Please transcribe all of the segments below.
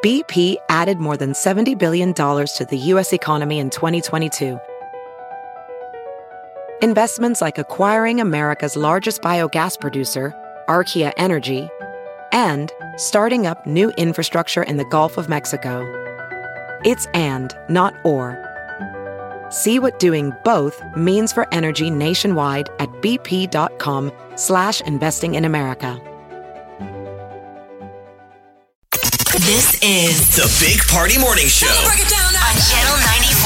BP added more than $70 billion to the U.S. economy in 2022. Investments like acquiring America's largest biogas producer, Archaea Energy, and starting up new infrastructure in the Gulf of Mexico. It's and, not or. See what doing both means for energy nationwide at bp.com/investing in America. This is the Big Party Morning Show break it down now. On Channel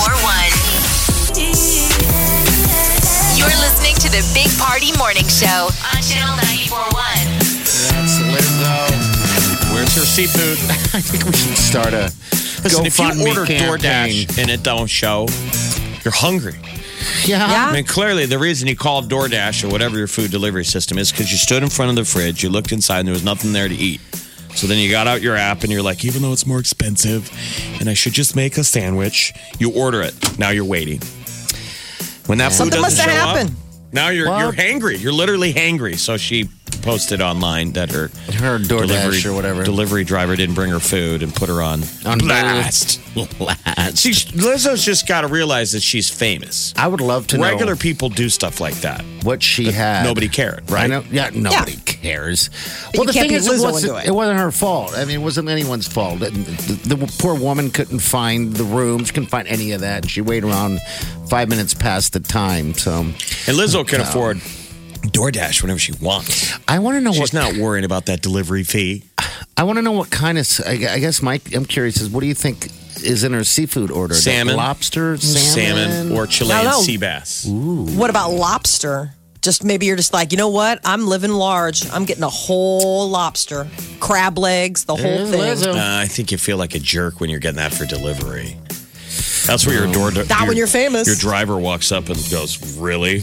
94.1. You're listening to the Big Party Morning Show on Channel 94.1. That's Lizzo. Where's her seafood? I think we should start a Listen, if you order campaign. DoorDash and it don't show, you're hungry. Yeah. I mean, clearly the reason you called DoorDash or whatever your food delivery system is because you stood in front of the fridge, you looked inside, and there was nothing there to eat. So then you got out your app and you're like, even though it's more expensive and I should just make a sandwich, you order it. Now you're waiting. When that food Something doesn't must have show happened. up, now you're hangry. You're literally hangry. So she posted online that her DoorDash or whatever delivery driver didn't bring her food and put her on blast. Lizzo's just got to realize that she's famous. I would love to know. Regular people do stuff like that. What she had. Nobody cared, right? I know. Yeah, nobody cares. But you can't be Lizzo and do it. It wasn't her fault. I mean, it wasn't anyone's fault. The poor woman couldn't find the room. She couldn't find any of that. She waited around 5 minutes past the time. So, and Lizzo can afford DoorDash whenever she wants. I want to know She's not worrying about that delivery fee. I want to know what kind of. I guess, Mike, I'm curious. What do you think is in her seafood order? Salmon, lobster, salmon, or Chilean sea bass. Ooh. What about lobster? Just maybe you're just like, you know what? I'm living large. I'm getting a whole lobster, crab legs, the whole thing. I think you feel like a jerk when you're getting that for delivery. That's where your when you're famous. Your driver walks up and goes, "Really?"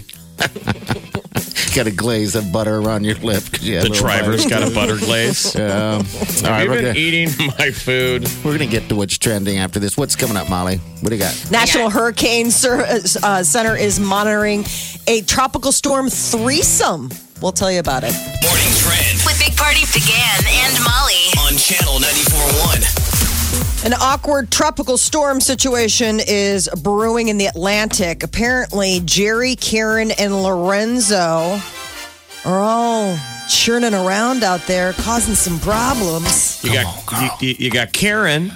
Got to glaze of butter around your lip. The driver's got a butter glaze. All right, we've been eating my food. We're going to get to what's trending after this. What's coming up, Molly? What do you got? National Hurricane Center is monitoring a tropical storm threesome. We'll tell you about it. Morning Trend With Big Party began and Molly. on Channel 94.1. An awkward tropical storm situation is brewing in the Atlantic. Apparently, Jerry, Karen, and Lorenzo are all churning around out there, causing some problems. You got Karen,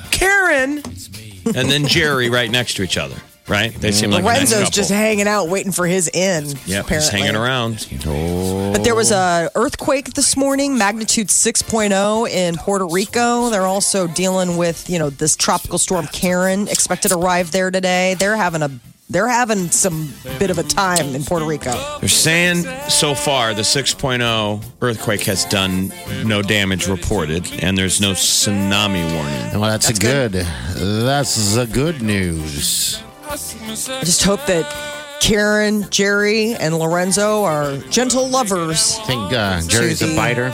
and then Jerry right next to each other, right? They seem like Lorenzo's a nice couple. just hanging out, waiting for his in. Yep, apparently. he's hanging around. But there was an earthquake this morning, magnitude 6.0 in Puerto Rico. They're also dealing with, this tropical storm Karen, expected to arrive there today. They're having some bit of a time in Puerto Rico. They're saying so far the 6.0 earthquake has done no damage reported, and there's no tsunami warning. Well, that's good. That's the good news. I just hope that Karen, Jerry, and Lorenzo are gentle lovers. I think Jerry's a biter.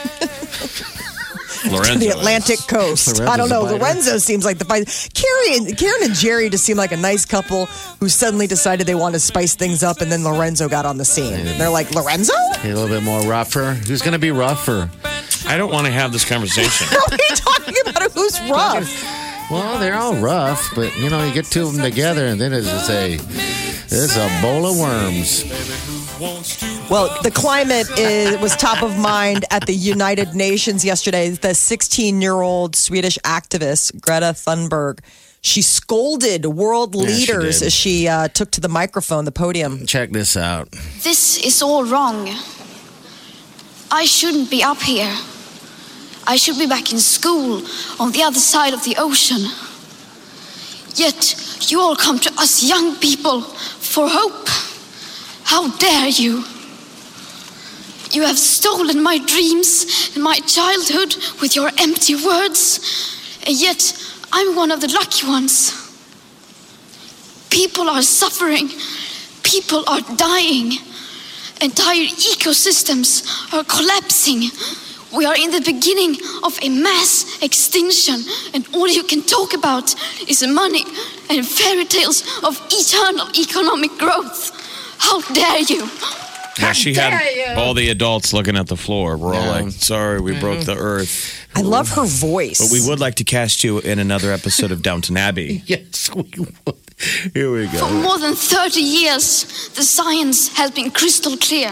Lorenzo The Atlantic coast. Lorenzo's I don't know. a biter. Lorenzo seems like the fight. Karen and Jerry just seem like a nice couple who suddenly decided they want to spice things up, and then Lorenzo got on the scene. They're like, Lorenzo? A little bit more rougher. Who's going to be rougher? I don't want to have this conversation. What are you talking about? Who's rough? Well, they're all rough, but you get two of them together, and then it's a bowl of worms. Well, the climate was top of mind at the United Nations yesterday. The 16-year-old Swedish activist, Greta Thunberg, she scolded world leaders as she took to the microphone, the podium. Check this out. This is all wrong. I shouldn't be up here. I should be back in school on the other side of the ocean. Yet you all come to us young people for hope. How dare you? You have stolen my dreams and my childhood with your empty words, and yet I'm one of the lucky ones. People are suffering. People are dying. Entire ecosystems are collapsing. We are in the beginning of a mass extinction, and all you can talk about is money and fairy tales of eternal economic growth. How dare you? Yeah, she had all the adults looking at the floor. We're all like, sorry, we broke the earth. I love her voice. But we would like to cast you in another episode of Downton Abbey. Yes, we would. Here we For go. more than 30 years, the science has been crystal clear.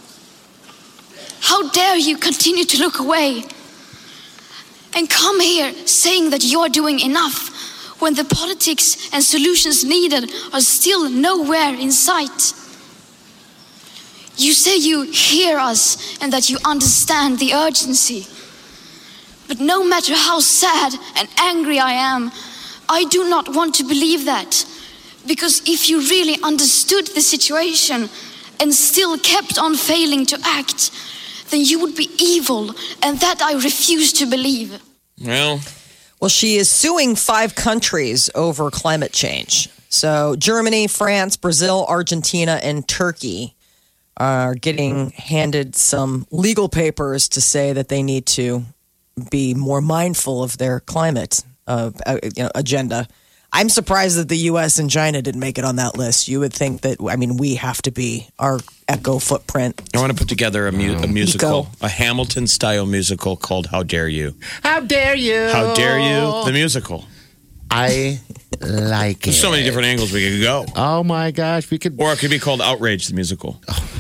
How dare you continue to look away and come here saying that you're doing enough when the politics and solutions needed are still nowhere in sight. You say you hear us and that you understand the urgency. But no matter how sad and angry I am, I do not want to believe that. Because if you really understood the situation and still kept on failing to act, then you would be evil, and that I refuse to believe. Well, She is suing 5 countries over climate change. So Germany, France, Brazil, Argentina, and Turkey are getting handed some legal papers to say that they need to be more mindful of their climate agenda. I'm surprised that the U.S. and China didn't make it on that list. You would think that, we have to be our eco footprint. I want to put together a musical, a Hamilton-style musical called How Dare You. How dare you? How Dare You, the musical. I like it. There's so many different angles we could go. Oh, my gosh. We could. Or it could be called Outrage, the musical.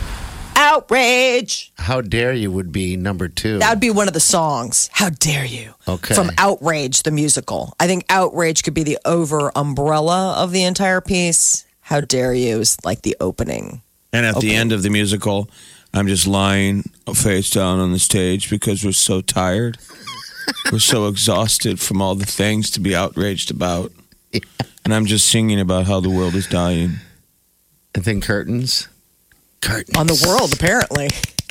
Outrage! How dare you would be number 2. That would be one of the songs. How dare you? Okay. From Outrage, the musical. I think Outrage could be the over umbrella of the entire piece. How dare you is like the opening. And at the end of the musical, I'm just lying face down on the stage because we're so tired. We're so exhausted from all the things to be outraged about. And I'm just singing about how the world is dying. And then curtains. Curtains. On the world, apparently.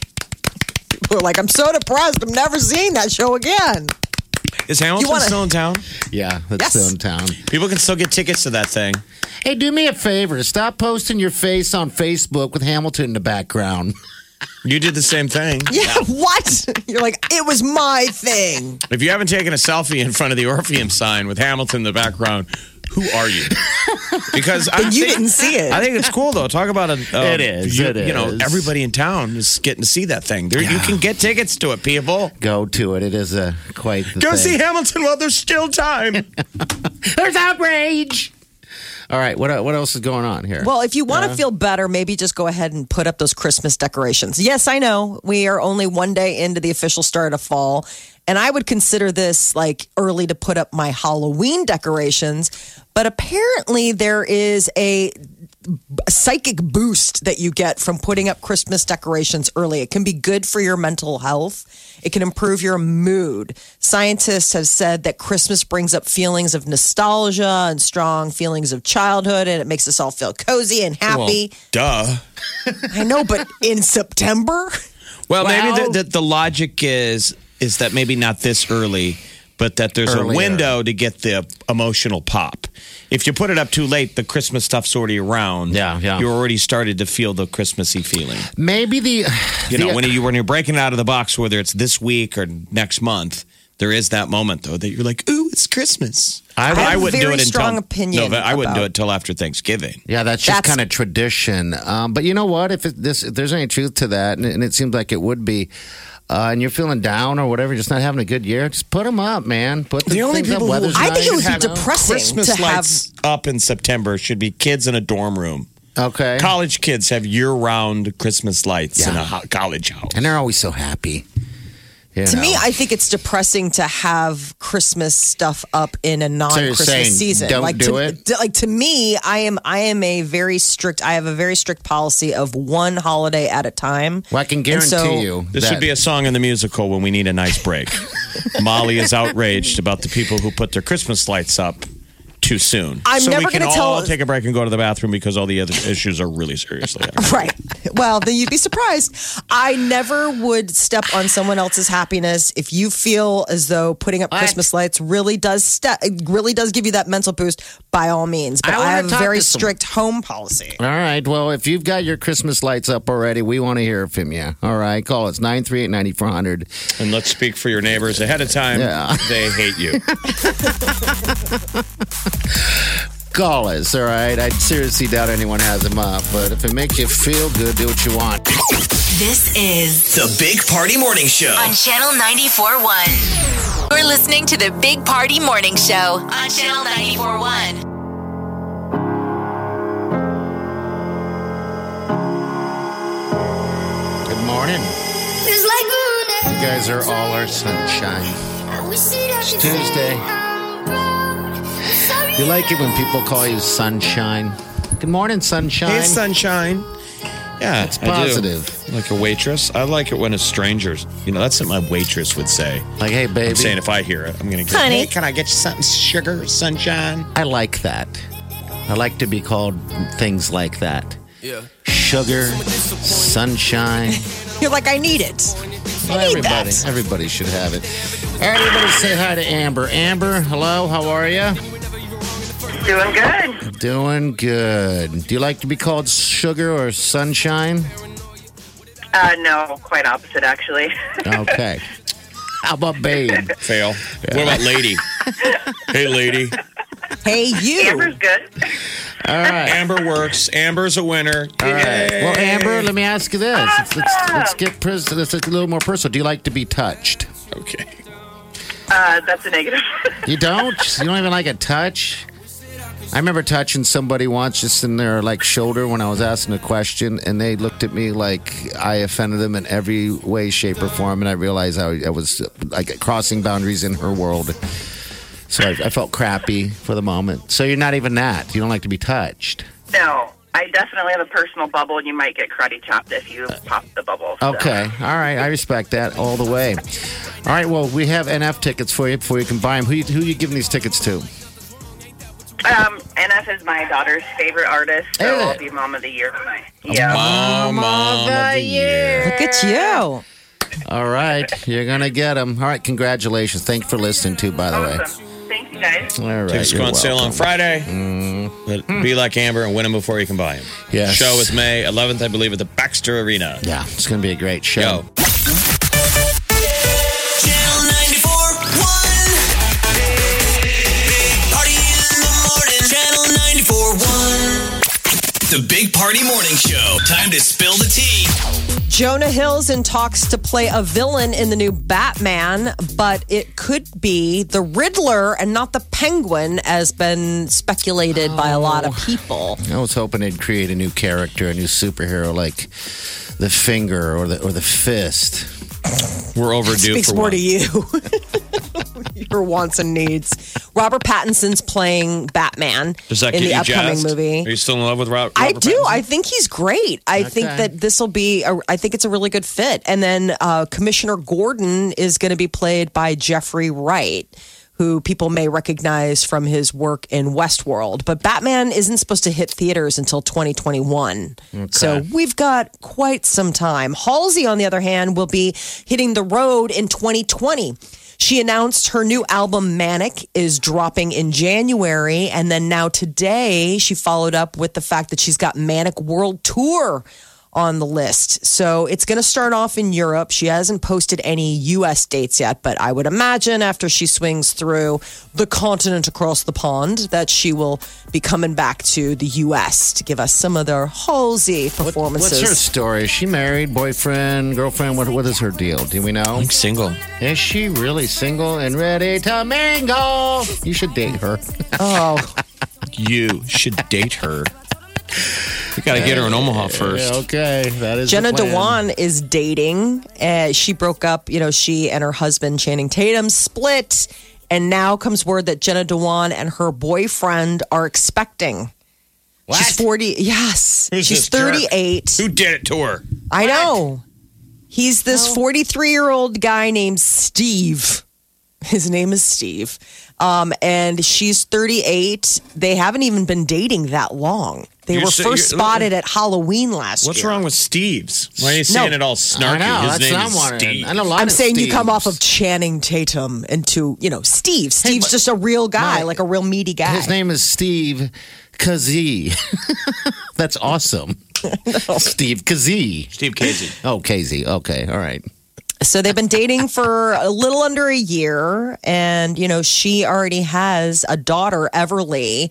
People are like, I'm so depressed. I'm never seeing that show again. Is Hamilton still in town? Yeah, that's Yes. still in town. People can still get tickets to that thing. Hey, do me a favor. Stop posting your face on Facebook with Hamilton in the background. You did the same thing. Yeah, what? You're like, it was my thing. If you haven't taken a selfie in front of the Orpheum sign with Hamilton in the background, who are you? Because You didn't see it. I think it's cool though. Talk about It is. You know, everybody in town is getting to see that thing. You can get tickets to it, people. Go to it. It is quite the Go thing. see Hamilton while there's still time. There's outrage. All right, what else is going on here? Well, if you want to feel better, maybe just go ahead and put up those Christmas decorations. Yes, I know we are only one day into the official start of fall, and I would consider this like early to put up my Halloween decorations. But apparently, there is a psychic boost that you get from putting up Christmas decorations early. It can be good for your mental health. It can improve your mood. Scientists have said that Christmas brings up feelings of nostalgia and strong feelings of childhood, and it makes us all feel cozy and happy. Well, duh. I know, but in September? Well, Wow. maybe the logic is that maybe not this early, but that there's Earlier. a window to get the emotional pop. If you put it up too late, the Christmas stuff's already around. Yeah. You already started to feel the Christmassy feeling. Maybe When you're breaking it out of the box, whether it's this week or next month, there is that moment though that you're like, "Ooh, it's Christmas." have a wouldn't do very it strong until opinion I wouldn't do about- it till after Thanksgiving. Yeah, that's just That's- kind of tradition. But you know what? If there's any truth to that, and it seems like it would be, and you're feeling down or whatever, just not having a good year, just put them up, man. Put the only things up. people who- Weather's I think it would nice, be you know? depressing Christmas to have. lights up in September should be kids in a dorm room. Okay. College kids have year-round Christmas lights in a college house. And they're always so happy. You To know. me, I think it's depressing to have Christmas stuff up in a you're non-Christmas saying season. don't like do to, it? Like to me, I have a very strict policy of one holiday at a time. Well, I can And guarantee so- you. This should be a song in the musical when we need a nice break. Molly is outraged about the people who put their Christmas lights up too soon. I'm so never we can gonna all tell- take a break and go to the bathroom because all the other issues are really seriously. Right. Well, then you'd be surprised. I never would step on someone else's happiness. If you feel as though putting up What? Christmas lights really does give you that mental boost, by all means. But I I wanna have a talk very to someone. strict home policy. All right. Well, if you've got your Christmas lights up already, we want to hear from you. All right. Call us 938-9400. And let's speak for your neighbors ahead of time. Yeah. They hate you. call us, all right? I seriously doubt anyone has them up, but if it makes you feel good, do what you want. This is The Big Party Morning Show. on Channel 94.1. You're listening to the Big Party Morning Show on Channel 94.1. Good morning. You guys are all our sunshine. It's Tuesday. You like it when people call you sunshine? Good morning, sunshine. Hey, sunshine. Yeah, It's positive. I do. Like a waitress. I like it when it's strangers. You know, that's what my waitress would say. Like, hey, baby. I'm saying if I hear it, I'm going to go, Honey. hey, can I get you something sugar, sunshine? I like that. I like to be called things like that. Yeah. Sugar, sunshine. You're like, I need it. Well, I need that. everybody should have it. All right, everybody say hi to Amber. Amber, hello, how are you? Doing good. Doing good. Do you like to be called sugar or sunshine? No, quite opposite, actually. Okay. How about babe? Fail. What about lady? Hey, lady. Hey, you. Amber's good. All right. Amber works. Amber's a winner. All right. Well, Amber, let me ask you this. Let's get let's a little more personal. Do you like to be touched? Okay. That's a negative. You don't? You don't even like a touch? I remember touching somebody once just in their like shoulder when I was asking a question, and they looked at me like I offended them in every way, shape, or form, and I realized I was like crossing boundaries in her world. So I felt crappy for the moment. So you're not even that. You don't like to be touched. No, I definitely have a personal bubble, and you might get karate chopped if you pop the bubble. So. Okay. All right. I respect that all the way. All right. Well, we have NF tickets for you before you can buy them. Who are you giving these tickets to? NF is my daughter's favorite artist, so Hey. I'll be Mom of the Year. Yeah. Mom of the year. Look at you. All right. You're going to get them. All right. Congratulations. Thank you for listening, too, by the way. Awesome. Thank you, guys. All right. Tickets go you're on sale on welcome. Friday. But be like Amber and win them before you can buy them. Yes. Show is May 11th, I believe, at the Baxter Arena. Yeah. It's going to be a great show. Yo. Channel 94.1. Big Party in the morning. Channel 94.1. The Big Party Morning Show. Time to spill the tea. Jonah Hill's in talks to play a villain in the new Batman, but it could be the Riddler and not the Penguin, as been speculated by a lot of people. I was hoping they'd create a new character, a new superhero like the Finger or the Fist. We're overdue Speaks for more one. to you. Your wants and needs. Robert Pattinson's playing Batman Does that in get the you upcoming jazzed? movie. Are you still in love with Robert I do. Pattinson? I think he's great. I think that this will be. I think it's a really good fit. And then Commissioner Gordon is going to be played by Jeffrey Wright, who people may recognize from his work in Westworld. But Batman isn't supposed to hit theaters until 2021. So we've got quite some time. Halsey, on the other hand, will be hitting the road in 2020. She announced her new album, Manic, is dropping in January. And then now today, she followed up with the fact that she's got Manic World Tour on the list. So it's going to start off in Europe. She hasn't posted any U.S. dates yet, but I would imagine after she swings through the continent across the pond that she will be coming back to the U.S. to give us some of their Halsey performances. What's her story? Is she married, boyfriend, girlfriend? What is her deal? Do we know? I'm single. Is she really single and ready to mingle? You should date her. Oh, You should date her. You got to get her in Omaha first. Yeah, okay, that is Jenna the plan. Dewan is dating. She broke up. She and her husband Channing Tatum split, and now comes word that Jenna Dewan and her boyfriend are expecting. What? She's 40. Yes, Who's she's this jerk? 38. Who did it to her? I know. He's this 43-year-old guy named Steve. His name is Steve. And she's 38. They haven't even been dating that long. They You're were so- first you're- spotted at Halloween last What's year. wrong with Steve's? Why are you saying No. it all snarky? I know, His that's name what I'm is wondering. Steve. I know a lot I'm of saying you come Steves. off of Channing Tatum into, Steve. Steve's but- just a real guy, Mike, like a real meaty guy. His name is Steve Kazee. That's awesome. Steve Kazee. Steve Casey. Oh, Casey. Okay, all right. So they've been dating for a little under a year. And, she already has a daughter, Everly,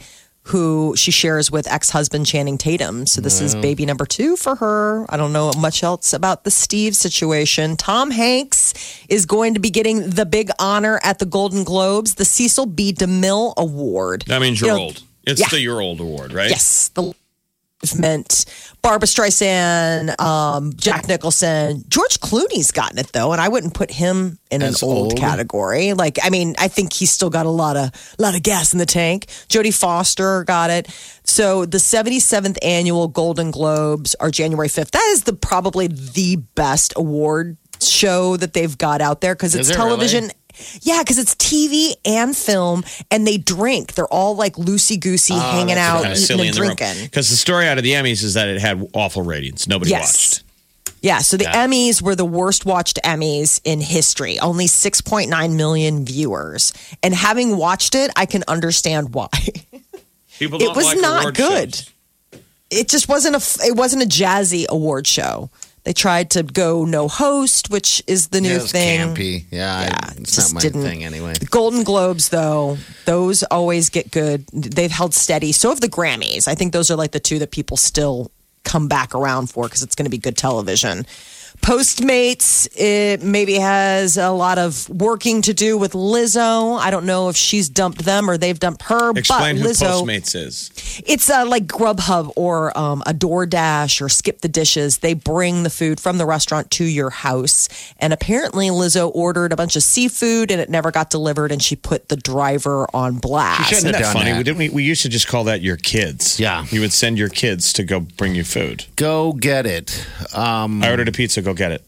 who she shares with ex-husband Channing Tatum. So this is baby number 2 for her. I don't know much else about the Steve situation. Tom Hanks is going to be getting the big honor at the Golden Globes, the Cecil B. DeMille Award. That means you're old. It's the You're Old Award, right? Yes. The meant Barbara Streisand, Jack Nicholson, George Clooney's gotten it though, and I wouldn't put him in As an old old? category. Like, I mean, I think he's still got a lot of gas in the tank. Jodie Foster got it. So the 77th annual Golden Globes are January 5th. That is probably the best award show that they've got out there because it's Is it television. really? Yeah, because it's TV and film, and they drink. They're all like loosey-goosey, hanging out, Kind of eating silly and in the room. drinking. Because the story out of the Emmys is that it had awful ratings. Nobody watched. Yeah, so the Emmys were the worst watched Emmys in history. Only 6.9 million viewers. And having watched it, I can understand why. People don't It was like not award good. shows. It just wasn't a jazzy award show. They tried to go no host, which is the new It was thing. campy. Yeah, it's just not my didn't. thing anyway. The Golden Globes, though, those always get good. They've held steady. So have the Grammys. I think those are like the two that people still come back around for because it's going to be good television. Postmates, it maybe has a lot of working to do with Lizzo. I don't know if she's dumped them or they've dumped her. Explain but who Lizzo, Postmates is. it's like Grubhub or a DoorDash or Skip the Dishes. They bring the food from the restaurant to your house. And apparently Lizzo ordered a bunch of seafood and it never got delivered and she put the driver on blast. Isn't that done funny? that. We used to just call that your kids. Yeah. You would send your kids to go bring you food. Go get it. I ordered a pizza, go get it.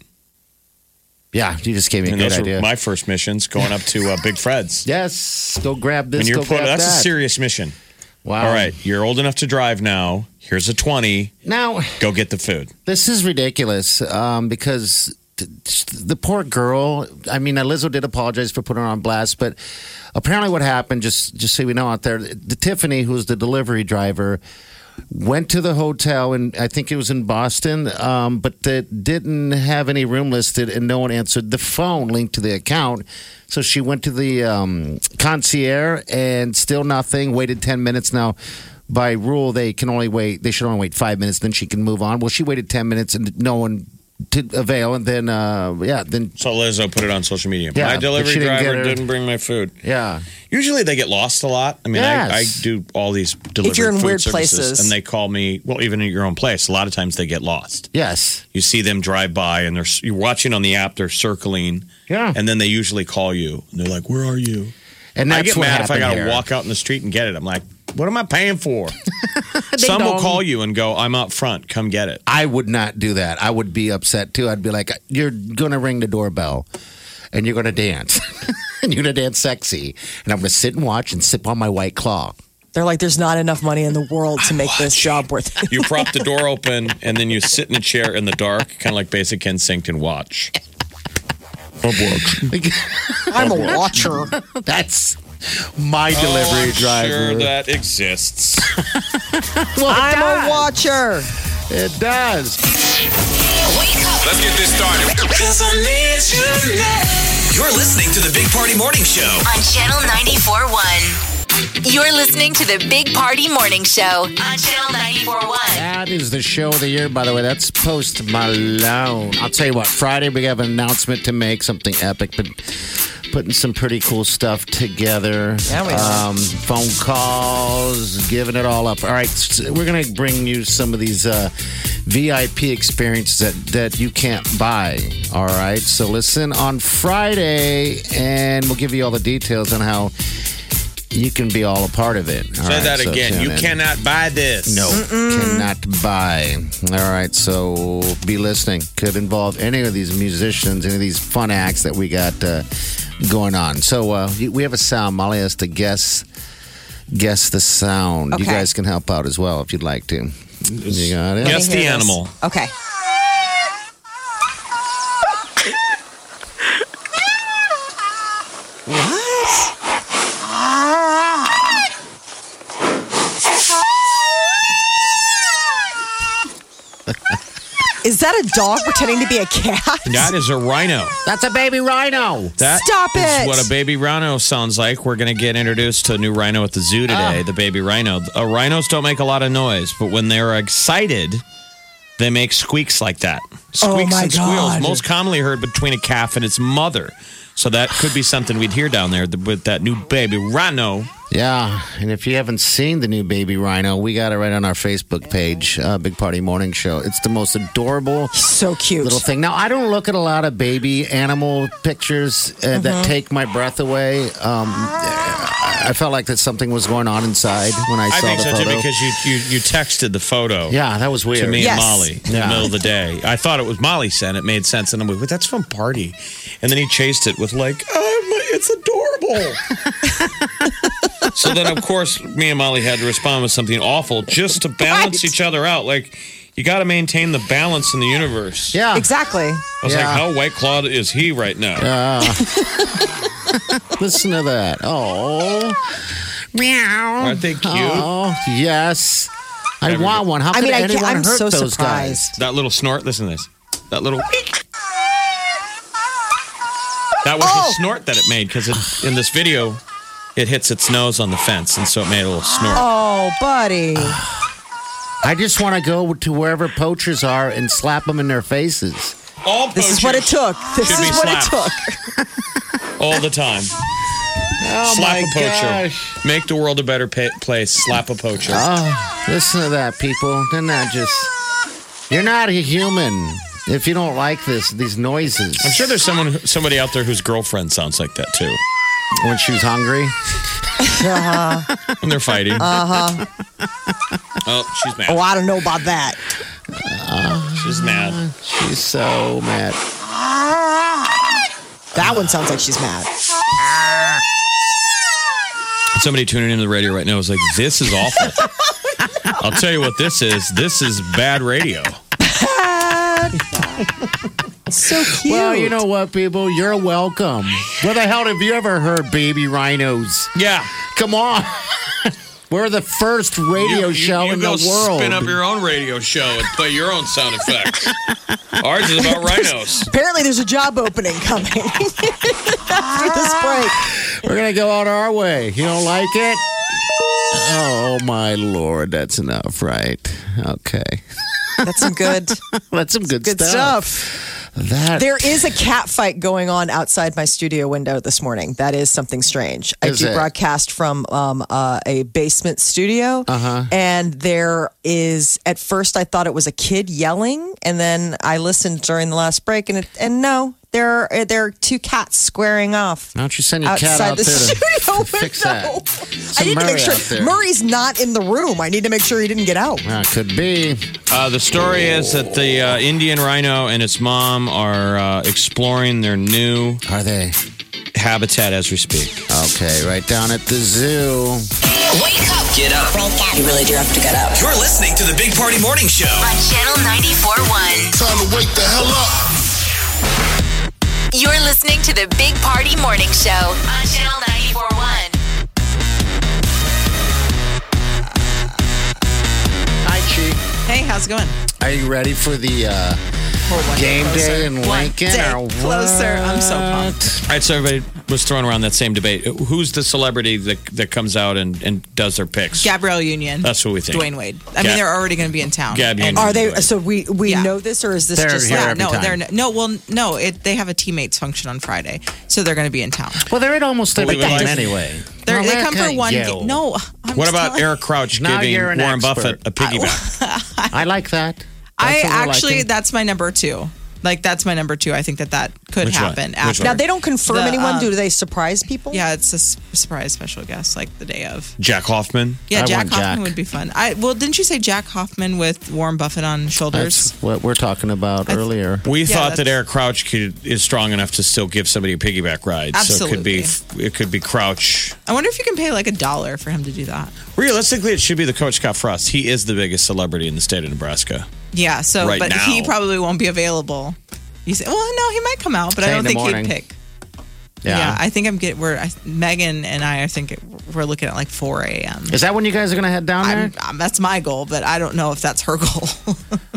Yeah, you just gave me a And good those idea. were my first missions going up to Big Fred's. Yes, go grab this. And you're Go grab that's that. a serious mission. Wow. All right, you're old enough to drive now. Here's a 20. Now, Go get the food. this is ridiculous because the poor girl. I mean, Lizzo did apologize for putting her on blast, but apparently, what happened? Just so we know out there, the Tiffany, who's the delivery driver, went to the hotel, and I think it was in Boston, but that didn't have any room listed, and no one answered the phone linked to the account. So she went to the concierge, and still nothing. Waited 10 minutes. Now, by rule, they should only wait 5 minutes. Then she can move on. Well, she waited 10 minutes, and no one to avail, and then So Lizzo put it on social media. Yeah, My but delivery she didn't get driver her- didn't bring my food. yeah. Usually they get lost a lot. I mean, Yes. I do all these delivery you're in food weird services, places. and they call me. Well, even at your own place, a lot of times they get lost. Yes. You see them drive by, and you're watching on the app. They're circling, Yeah. and then they usually call you, and they're like, "Where are you?" And I that's get what mad if I happened got to here. walk out in the street and get it. I'm like, "What am I paying for?" Some will dong. call you and go, "I'm out front. Come get it." I would not do that. I would be upset too. I'd be like, you're going to ring the doorbell and you're going to dance. And you're going to dance sexy. And I'm going to sit and watch and sip on my White Claw. They're like, there's not enough money in the world to make this job worth it. You prop the door open, and then you sit in a chair in the dark, kind of like basic instinct, and watch. I'm a watcher. That's my delivery I'm driver. Sure, that exists. I'm a watcher. It does. Wake up Let's get this started. You're listening to the Big Party Morning Show. on Channel 94.1. You're listening to the Big Party Morning Show on Channel 94.1. That is the show of the year, by the way. That's Post Malone. I'll tell you what, Friday we have an announcement to make, something epic, but putting some pretty cool stuff together. Yeah, we are. Phone calls, giving it all up. All right, so we're going to bring you some of these VIP experiences that you can't buy. All right, so listen on Friday, and we'll give you all the details on how you can be all a part of it. All Say right, that so again. tune You in. cannot buy this. No, cannot buy. All right, so be listening. Could involve any of these musicians, any of these fun acts that we got going on. So we have a sound. Molly has to guess the sound. You Okay. guys can help out as well if you'd like to. You got it? Guess Let me the hear this. animal. Okay. Is that a dog pretending to be a cat? That is a rhino. That's a baby rhino. That Stop is it. what a baby rhino sounds like. We're going to get introduced to a new rhino at the zoo today, the baby rhino. Rhinos don't make a lot of noise, but when they're excited, they make squeaks like that. Squeaks my and squeals, God. most commonly heard between a calf and its mother. So that could be something we'd hear down there with that new baby rhino. Yeah, and if you haven't seen the new baby rhino, we got it right on our Facebook page, Big Party Morning Show. It's the most adorable So cute. little thing. Now, I don't look at a lot of baby animal pictures that take my breath away. I felt like that something was going on inside when I saw I think the so photo. too because you texted the photo. Yeah, that was weird. To me Yes. and Molly in the middle of the day. I thought it was Molly sent. It made sense. And I'm like, but that's from Party. And then he chased it with like, it's adorable. So then, of course, me and Molly had to respond with something awful just to balance each other out. Like, you got to maintain the balance in the universe. Yeah. Exactly. I was like, Yeah. how White Clawed is he right now? Listen to that. Oh. Meow. Aren't they cute? Oh, yes. I want one. How could anyone I'm hurt so those surprised. guys? That little snort. Listen to this. That little. That was the snort that it made because in this video, it hits its nose on the fence, and so it made a little snort. Oh, buddy. I just want to go to wherever poachers are and slap them in their faces. All This is what it took. This should is be what it slapped. took. all the time. Oh, Slap my a poacher. gosh. Make the world a better place. Slap a poacher. Oh, listen to that, people. They're not just... You're not a human if you don't like these noises. I'm sure there's somebody out there whose girlfriend sounds like that too. When she's hungry. When they're fighting. Oh, she's mad. Oh, I don't know about that. She's mad. She's so mad. That one sounds like she's mad. Somebody tuning into the radio right now is like, this is awful. I'll tell you what this is. This is bad radio. So cute. Well, you know what, people? You're welcome. Where the hell have you ever heard baby rhinos? Yeah. Come on. We're the first radio show in the world. Spin up your own radio show and play your own sound effects. Ours is about rhinos. Apparently, there's a job opening coming after this break. We're going to go out our way. You don't like it? Oh, my Lord. That's enough, right? Okay. That's some good Good stuff. That There is a cat fight going on outside my studio window this morning. That is something strange. I Is do it? broadcast from a basement studio, and there is. At first, I thought it was a kid yelling, and then I listened during the last break, and no, there are two cats squaring off. Why don't you send your cat Outside out the there studio to fix that? window. Send I need to Murray make sure out there. Murray's not in the room. I need to make sure he didn't get out. Could be. The story is that the Indian rhino and its mom are exploring their new Are they? habitat as we speak. Okay, right down at the zoo. Wake up Get up. You really do have to get up. You're listening to the Big Party Morning Show. On Channel 94.1. Time to wake the hell up. You're listening to the Big Party Morning Show on Channel 94.1. Hi, Chi. Hey, how's it going? Are you ready for the game day in Lincoln? day or closer. I'm so what? pumped. All right, so everybody was throwing around that same debate. Who's the celebrity that comes out and does their picks? Gabrielle Union. That's what we think. Dwayne Wade. I mean, they're already going to be in town. Gab And- Union. Are they? Right. So we Yeah. know this, or is this They're just here like every time. They have a teammates function on Friday, so they're going to be in town. Well, they're in almost every Well, we game like- anyway. They Well, come for okay, one yo. game. No, I'm What just about telling- Eric Crouch Now giving you're an Warren expert. Buffett a piggyback? I like that. I That's what we're actually, liking. that's my number two. Like, that's my number two. I think that could Which one? happen. Which After. one? now they don't confirm The, anyone. Do they surprise people? Yeah, it's a surprise special guest, like the day of. Jack Hoffman? Yeah, I Jack want Hoffman Jack. would be fun. Well, didn't you say Jack Hoffman with Warren Buffett on shoulders? That's what we're talking about earlier. We thought that that's- Eric Crouch is strong enough to still give somebody a piggyback ride. So it could be Crouch. I wonder if you can pay like $1 for him to do that. Realistically, it should be the coach Scott Frost. He is the biggest celebrity in the state of Nebraska. Yeah, so Right but now. he probably won't be available. You say, well, no, he might come out, but Say I in don't the think morning. he'd pick. Yeah. I think Megan and I think we're looking at like 4 a.m. Is that when you guys are going to head down there? That's my goal, but I don't know if that's her goal.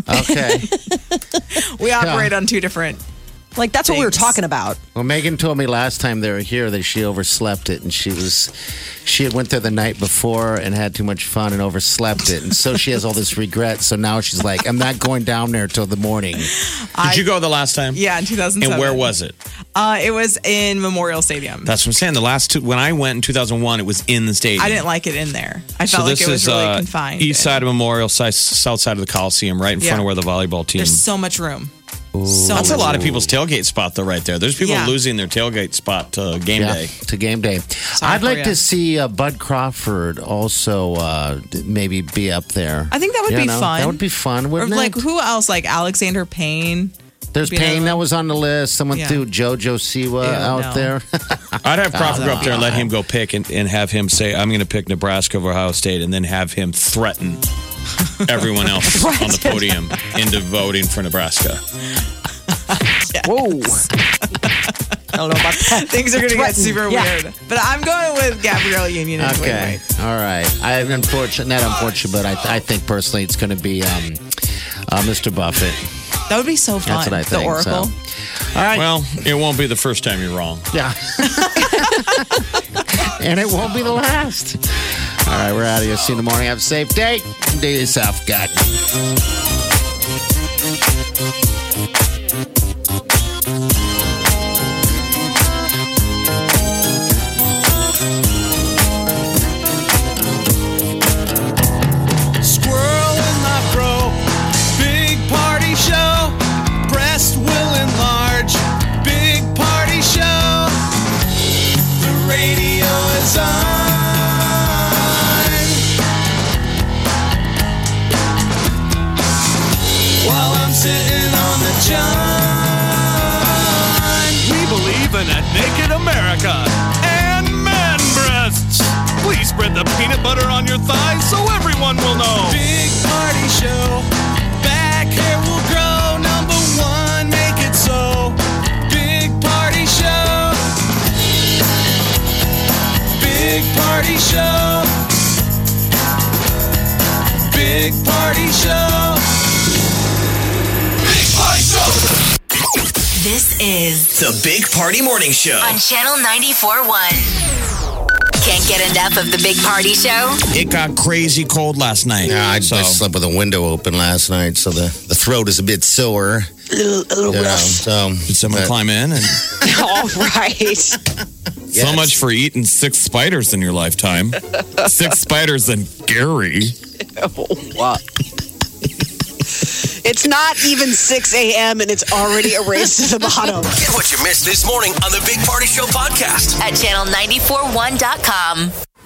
Okay. We operate on two different. Like, that's what we were Things. talking about. Well, Megan told me last time they were here that she overslept it, and she had went there the night before and had too much fun and overslept it, and so she has all this regret. So now she's like, I'm not going down there till the morning. Did you go the last time? Yeah, in 2007. And where was it? It was in Memorial Stadium. That's what I'm saying. The last two, when I went in 2001, it was in the stadium. I didn't like it in there. I felt like it was really confined. East side of Memorial, south side of the Coliseum, right in front Yeah. of where the volleyball team. There's so much room. That's a lot of people's tailgate spot, though, right there. There's people Yeah. losing their tailgate spot to game day. To game day. I'd for like ya. to see Bud Crawford also maybe be up there. I think that would You be know, fun. That would be fun, Or wouldn't like it? who else? Like Alexander Payne. There's be another Payne one. that was on the list. Someone Yeah. threw JoJo Siwa Ew, out no. there. I'd have Crawford go up there and let him go pick and have him say, I'm going to pick Nebraska over Ohio State, and then have him threaten everyone else on the podium into voting for Nebraska. Whoa. I don't know about that. Things are going to get Threatened. super Yeah. weird. But I'm going with Gabrielle Union. Anyway, Okay. All right. Not unfortunate, but I think personally it's going to be Mr. Buffett. That would be so fun. That's what I think. The Oracle. So. All right. Well, it won't be the first time you're wrong. Yeah. And it won't be the last. All right. We're out of here. See you in the morning. Have a safe day. Do yourself good. Squirrel in my fro. Big party show. Breast will enlarge. Big party show. The radio is on. While I'm sitting on the john. We believe in a naked America and man breasts. Please spread the peanut butter on your thighs so everyone will know. Big party show. Back hair will grow. Number one, make it so. Big party show. Big party show. Big party show. Big party show. This is The Big Party Morning Show. on Channel 94.1. Can't get enough of the Big Party Show? It got crazy cold last night. Yeah, I slept with a window open last night, so the throat is a bit sore. A little rough. So Did someone climb in? And All right. so much for eating 6 spiders in your lifetime. 6 spiders and Gary. What? It's not even 6 a.m. and it's already erased to the bottom. Get what you missed this morning on the Big Party Show podcast. At channel941.com.